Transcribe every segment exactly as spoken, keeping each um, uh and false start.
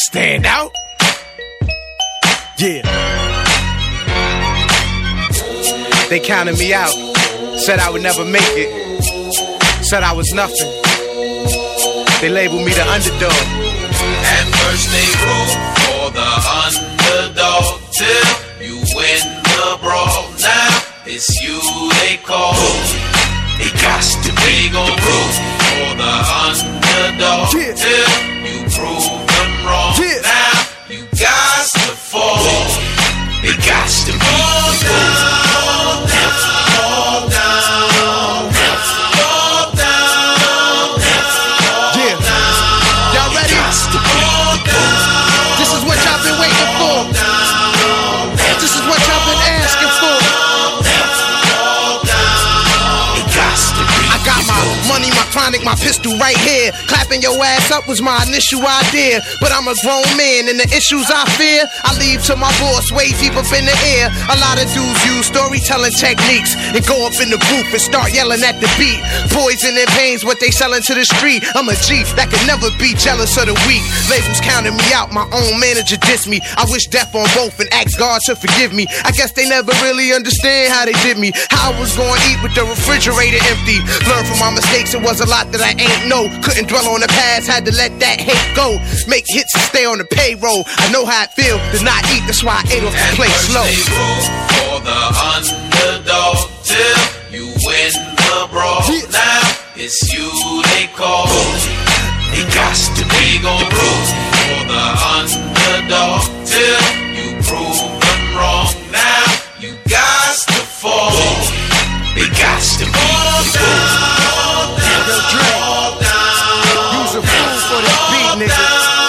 stand out. Yeah. They counted me out. Said I would never make it. Said I was nothing. They labeled me the underdog. At first they root for the underdog till you win the brawl. Now it's you they call. They got to be gon' root for the underdog yeah. till you prove them wrong. Yeah. Now you got to fall. They got to be fall down, fall down, fall down, fall down, yeah. Y'all ready? Fall down. This is what y'all been waiting for. This is what y'all been asking for. I got my money, my chronic, my pistol right here. Clapping your ass up was my initial idea. But I'm a grown man and the issues I fear I leave to my boss way deep up in the air. A lot of dudes use storytelling techniques and go up in the booth and start yelling at the beat. Poison and pain's what they selling to the street. I'm a G that could never be jealous of the weak. Labels counted me out, my own manager dissed me. I wish death on both and asked God to forgive me. I guess they never really understand how they did me. How I was gonna eat with the refrigerator empty. Learn from my mistakes, it was a lot that I ain't know. Couldn't dwell on the past, had to let that hate go. Make hits and stay on the payroll. I know how it feel to not eat, that's why I ate off the plate slow. They root for the underdog till you win the brawl. Yeah. Now it's you they call. They got to be gon' root for the underdog till you prove them wrong. Now you got to fall. They got to be fall down. Fall down. Use a fool for the beat, nigga.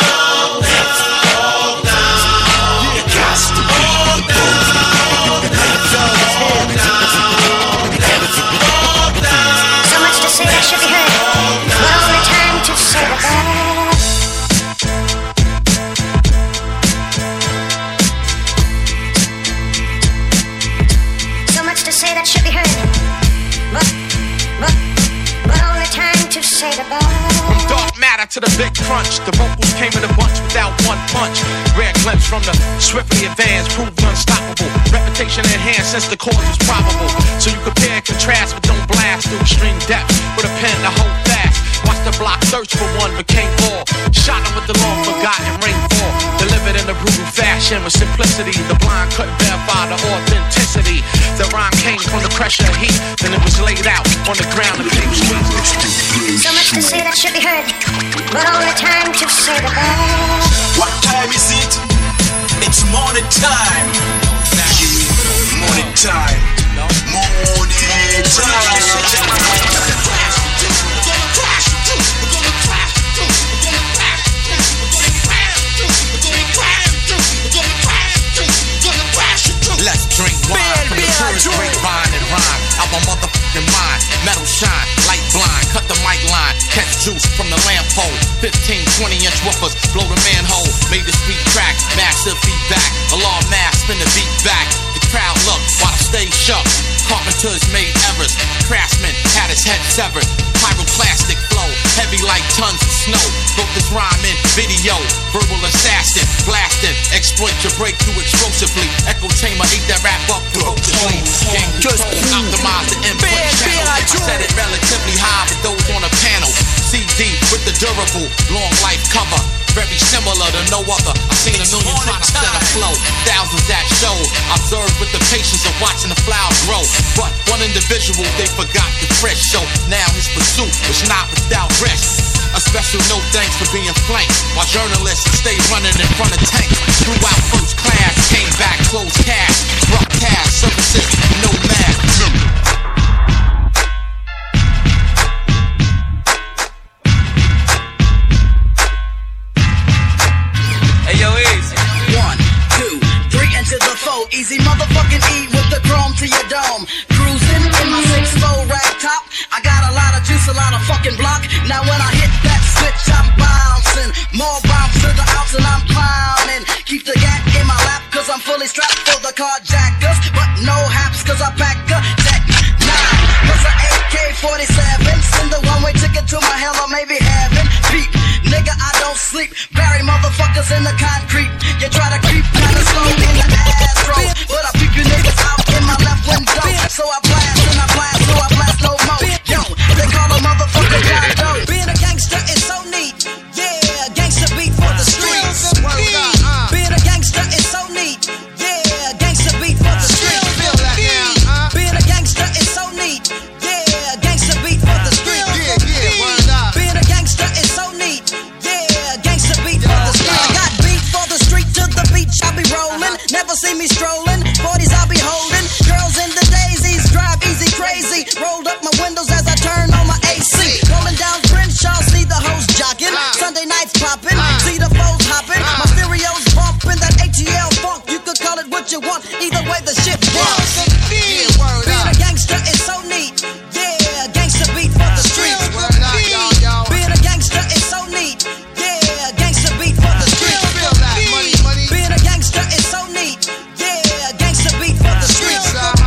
From dark matter to the big crunch, the vocals came in a bunch without one punch. Rare glimpse from the swiftly advanced, proved unstoppable. Reputation enhanced since the cause was probable. So you compare and contrast, but don't blast through extreme depth with a pen to hold fast. Watch the block search for one, became ball. Shot him with the long forgotten rainfall. Delivered in a brutal fashion with simplicity. The blind couldn't verify the authenticity. The rhyme came from the pressure of heat, then it was laid out on the ground and came sweet. So much to say that should be heard, but only time to say the best. What time is it? It's morning time. Morning time. Morning time. Let's drink wine from the tourist grapevine and rhyme out my motherfucking mind. Metal shine, light blind, cut the mic line, catch juice from the lamp pole. fifteen, twenty inch woofers, blow the manhole. Made the street crack, massive feedback. Alarm mass, spin the beat back. The crowd look while I stay shook. Carpenters made errors, craftsman had his head severed. Pyroclastic flow, heavy like tons of snow. Broke this rhyme in video, verbal assassin, blasting. Exploit your breakthrough explosively. Echo chamber, ate that rap up ferociously. Game control, optimize the input channel. I set it relatively high for those on the panel. C D with the durable, long life cover. Very similar to no other. I've seen a million try to set a flow. Thousands that show. Observed with the patience of watching the flower grow. But one individual, they forgot the fresh. So now his pursuit was not without rest. A special no thanks for being flanked. While journalists stay running in front of tanks. Throughout first class, came back closed cash. Rock cash, services, no math. Easy motherfucking E with the chrome to your dome. Cruising in my six four rag top. I got a lot of juice, a lot of fucking block. Now when I hit that switch, I'm bouncing. More bounce to the ounce and I'm clowning. Keep the gat in my lap cause I'm fully strapped for the carjackers. But no haps cause I pack a tech nine. Plus a A K forty-seven, send the one-way ticket to my hell or maybe heaven. Peep, nigga, I don't sleep. Bury motherfuckers in the concrete. You try to creep kinda slow in the astro, but I peep you niggas out in my left window. So I blast and I blast, so I blast no more. Yo, they call a motherfucker John Doe. Being a gangster is so neat. Yeah, gangster beat for the streets. Being a gangster is so neat. Yeah, gangster beat for the streets. Being a gangster is so neat. Yeah, gangster beat for the streets. Being a gangster is so neat. Yeah, gangster beat for the streets. I got beat for the street to the beach. I be rolling. Never see me strolling. forties I be holding. Girls in the daisies drive easy crazy. Rolled up my windows as I turn on my A C. Rolling down Crenshaw, see the hoes jocking. Sunday nights popping, see the foes hopping. My stereo's bumping that A T L funk. You could call it what you want. Either way the shit bumps. Being a gangster is so neat. Yeah, gangster beat for the streets. Being a gangster is so neat. Yeah, gangster beat for the streets. Being a gangster is so neat. Yeah, gangster beat for the streets.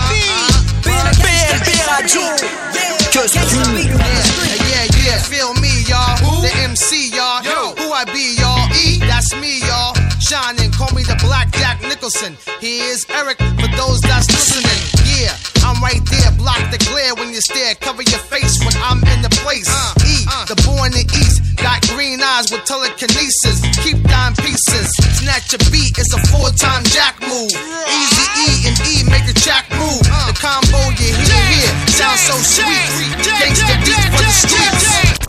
Being a gangster is so neat. Yeah, gangster beat for the streets. Yeah, yeah, feel me, y'all. The M C, y'all. Who I be, y'all? E, that's me, y'all. Shining, call me the Black Jack Nicholson. He is Eric for those that's listening. Yeah, I'm right there, block the glare when you stare. Cover your face when I'm in the place. E, the boy in the East, got green eyes with telekinesis. Keep dime pieces, snatch a beat, it's a four-time jack move. Easy E and E make a jack move. The combo you hear here sounds so sweet. Gangsta beat for the streets.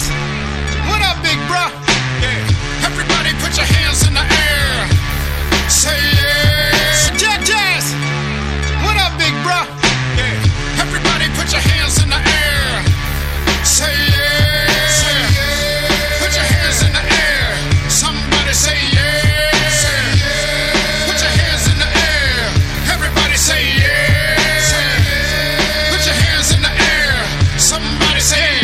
What up, big bruh? Yeah. Everybody put your hands in the air. Say yeah. Jack Jazz. What up, big bruh? Yeah. Everybody put your hands in the air. Say yeah. Say yeah. Put your hands in the air. Somebody say yeah. Say yeah. Put your hands in the air. Everybody say yeah. Say yeah. Put your hands in the air. Somebody say yeah.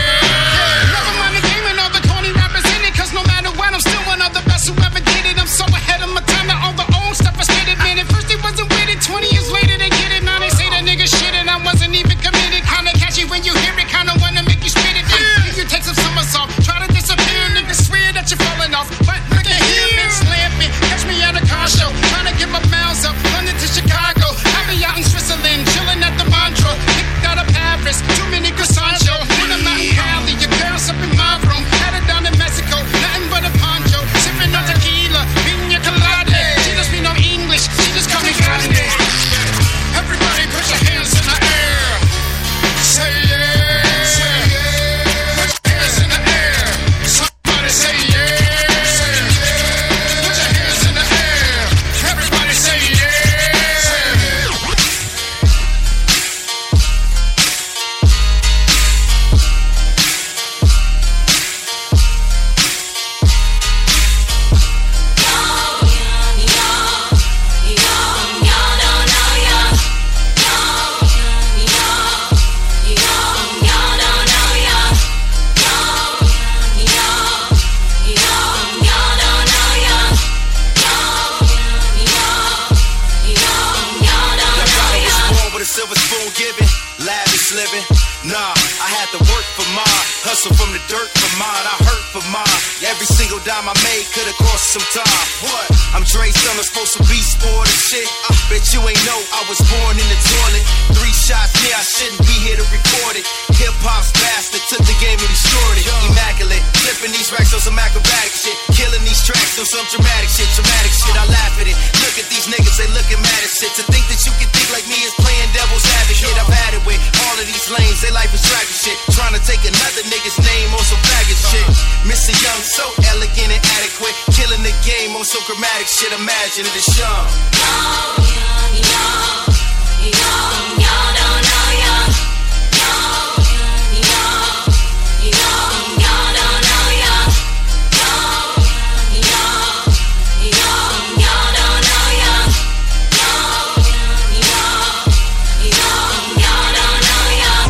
twenty years later they get it, now they say that nigga shit and I wasn't even committed. Kinda catchy when you hear it, kinda wanna make you spit it. Yeah. You take some somersault, try to disappear, niggas swear that you're falling off. But look at him, it's slamping. Catch me at a car show, trying to get my miles up, London to Chicago. I be out in Switzerland, chilling at the Montreux. Picked out of Paris, too many croissants, yo. When I'm out in Cali, your girl's up in my room. Had it down in Mexico, nothing but a poncho. Sipping on tequila, pina colada. She doesn't speak no English, she just call me Grande. Everybody put your hands in the air. Say yeah. Say yeah. Put your hands in the air. Somebody say yeah. Say yeah. Put your hands in the air. Everybody say yeah. Say yeah. Silver spoon giving, lavish living. Nah, I had to work for mine, hustle from the dirt for mine. I hurt for mine. Every single dime I made could have cost some time. What? I'm Dre Summer, supposed to be sport and shit. I bet you ain't know I was born in the toilet. Three shots, yeah, I shouldn't be here to record it. Hip hop's bastard, took the game and destroyed it. Immaculate, flipping these racks on some acrobatic shit. Killing these tracks on some dramatic shit, dramatic shit. I laugh at it. Look at these niggas, they looking mad as shit. To think that you can think like me is playing devil's advocate. I've had it with all of these lanes, they life is tragic shit. Trying to take another nigga's name on some faggot shit. Mister Young, so elegant and adequate. Killing the game on some chromatic shit. Imagine it is young. Young, young, young, young, young, don't know young. Young, young, young, young, don't know young. Young, young, young, young, don't know young. Young, young, young, young, don't know young.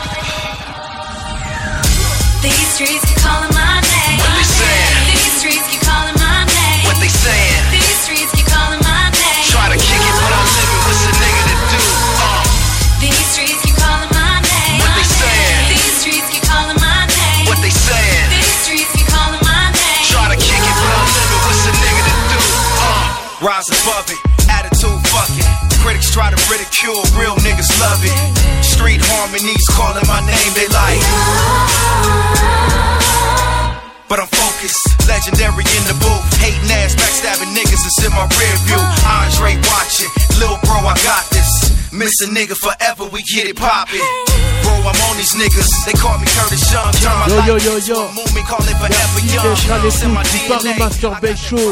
These streets keep calling my name. These streets keep try to ridicule, real niggas love it. Street harmonies calling my name, they like. But I'm focused, legendary in the booth. Hating ass, backstabbing niggas is in my rear view. Andre watching, lil' bro, I got this. Miss a nigga forever, we get it poppin'. Bro, I'm on these niggas, they call me Curtis Young. Turn my Yo, yo, life yo, into yo. a movie, call it forever young. D J Charles It's in my Fou, D N A. Paris Master Base Show.